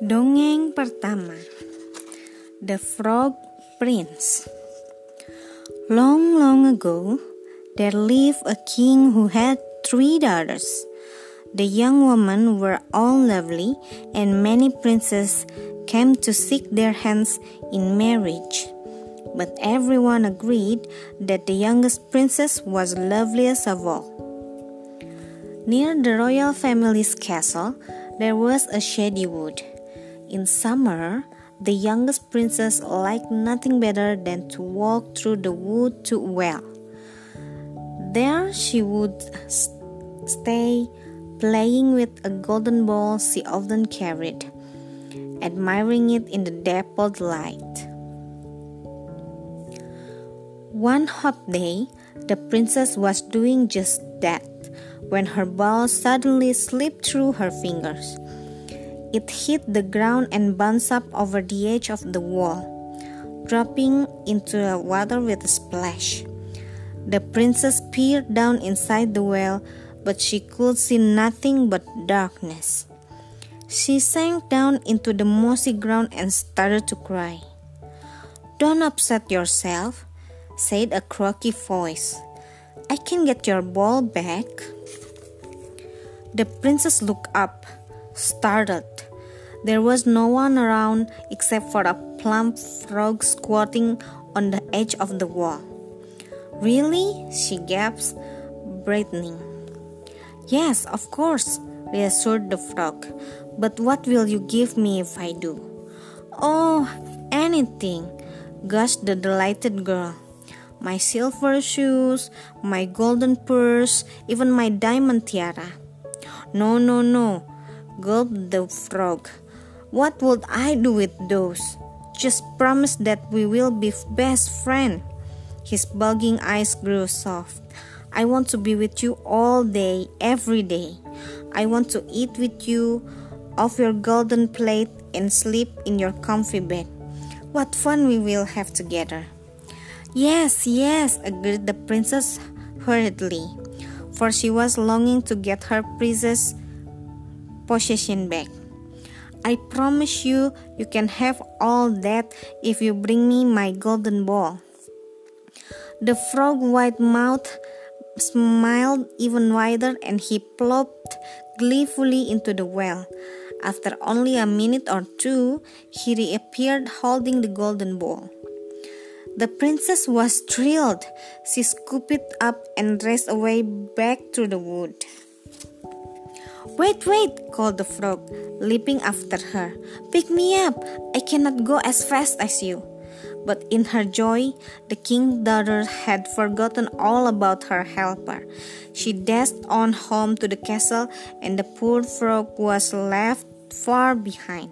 Dongeng pertama, The Frog Prince. Long, long ago, there lived a king who had 3 daughters. The young women were all lovely, and many princes came to seek their hands in marriage. But everyone agreed that the youngest princess was loveliest of all. Near the royal family's castle, there was a shady wood. In summer, the youngest princess liked nothing better than to walk through the wood to a well. There she would stay, playing with a golden ball she often carried, admiring it in the dappled light. One hot day, the princess was doing just that when her ball suddenly slipped through her fingers. It hit the ground and bounced up over the edge of the wall, dropping into the water with a splash. The princess peered down inside the well, but she could see nothing but darkness. She sank down into the mossy ground and started to cry. "Don't upset yourself," said a croaky voice. "I can get your ball back." The princess looked up, startled. There was no one around except for a plump frog squatting on the edge of the wall. "Really?" she gasped, brightening. "Yes, of course," reassured the frog. "But what will you give me if I do?" "Oh, anything," gushed the delighted girl. "My silver shoes, my golden purse, even my diamond tiara." No, gulped the frog. "What would I do with those? Just promise that we will be best friends." His bulging eyes grew soft. "I want to be with you all day, every day. I want to eat with you off your golden plate and sleep in your comfy bed. What fun we will have together." Yes, agreed the princess hurriedly, for she was longing to get her precious possession back. "I promise you can have all that if you bring me my golden ball." The frog's white mouth smiled even wider, and he plopped gleefully into the well. After only a minute or two, he reappeared holding the golden ball. The princess was thrilled. She scooped it up and raced away back through the wood. Wait, called the frog, leaping after her. "Pick me up. I cannot go as fast as you." But in her joy, the king's daughter had forgotten all about her helper. She dashed on home to the castle, and the poor frog was left far behind.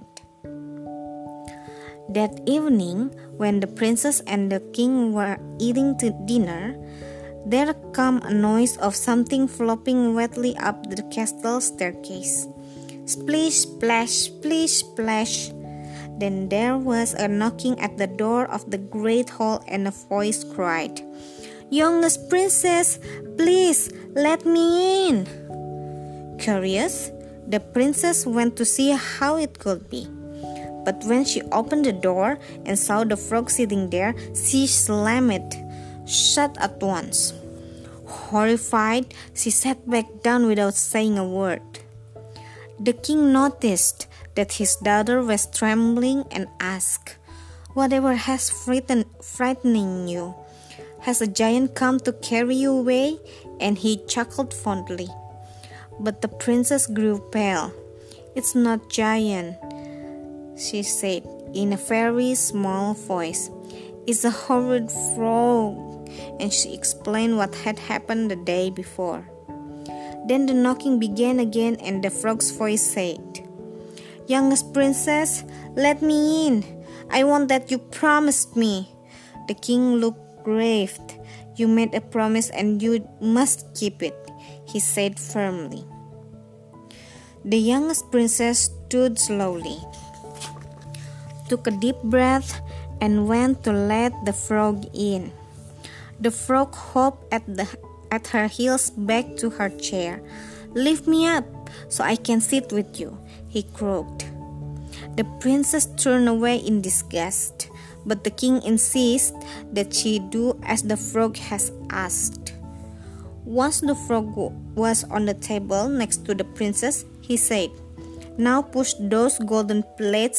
That evening, when the princess and the king were eating dinner, there came a noise of something flopping wetly up the castle staircase. Splish, splash, splish, splash. Then there was a knocking at the door of the great hall, and a voice cried, "Youngest princess, please let me in." Curious, the princess went to see how it could be. But when she opened the door and saw the frog sitting there, she slammed it shut at once. Horrified, she sat back down without saying a word. The king noticed that his daughter was trembling and asked, "Whatever has frightening you? Has a giant come to carry you away?" And he chuckled fondly. But the princess grew pale. "It's not giant," she said in a very small voice. "It's a horrid frog." And she explained what had happened the day before. Then the knocking began again, and the frog's voice said, "Youngest princess, let me in. I want that you promised me." The king looked grave. "You made a promise and you must keep it," he said firmly. The youngest princess stood slowly, took a deep breath, and went to let the frog in. The frog hopped at her heels back to her chair. "Lift me up so I can sit with you," he croaked. The princess turned away in disgust, but the king insists that she do as the frog has asked. Once the frog was on the table next to the princess, he said, "Now push those golden plates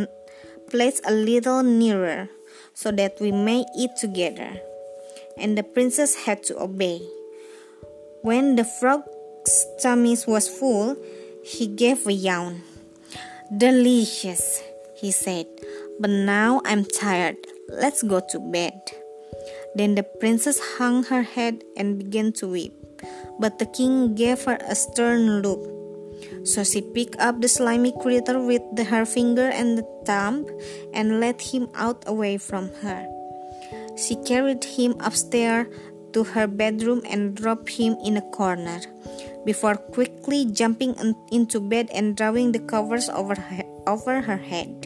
a little nearer, so that we may eat together." And the princess had to obey. When the frog's tummy was full, he gave a yawn. "Delicious," he said, "but now I'm tired. Let's go to bed." Then the princess hung her head and began to weep, but the king gave her a stern look. So she picked up the slimy creature with her finger and the thumb and led him out away from her. She carried him upstairs to her bedroom and dropped him in a corner, before quickly jumping into bed and drawing the covers over her head.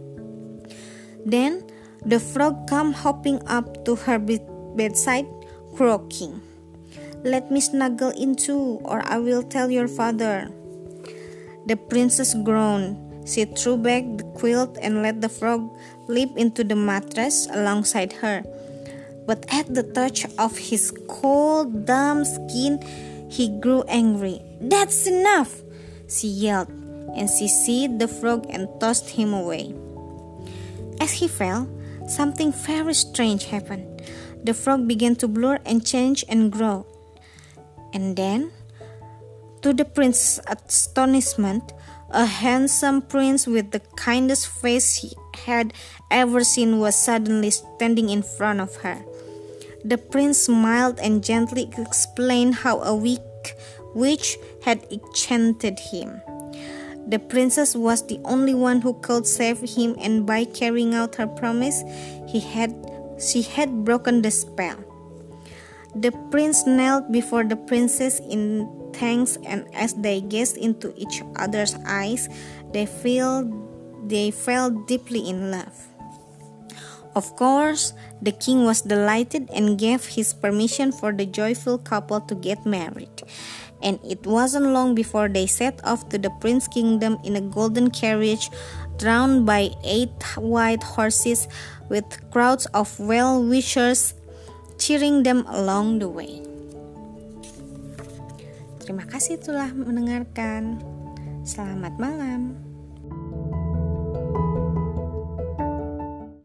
Then the frog came hopping up to her bedside, croaking, "Let me snuggle in too, or I will tell your father." The princess groaned. She threw back the quilt and let the frog leap into the mattress alongside her. But at the touch of his cold, damp skin, he grew angry. "That's enough!" she yelled, and she seized the frog and tossed him away. As he fell, something very strange happened. The frog began to blur and change and grow. And then, to the prince's astonishment, a handsome prince with the kindest face he had ever seen was suddenly standing in front of her. The prince smiled and gently explained how a witch had enchanted him. The princess was the only one who could save him, and by carrying out her promise, she had broken the spell. The prince knelt before the princess in thanks, and as they gazed into each other's eyes, they fell deeply in love. Of course, the king was delighted and gave his permission for the joyful couple to get married. And it wasn't long before they set off to the prince's kingdom in a golden carriage drawn by 8 white horses, with crowds of well-wishers cheering them along the way. Terima kasih telah mendengarkan. Selamat malam.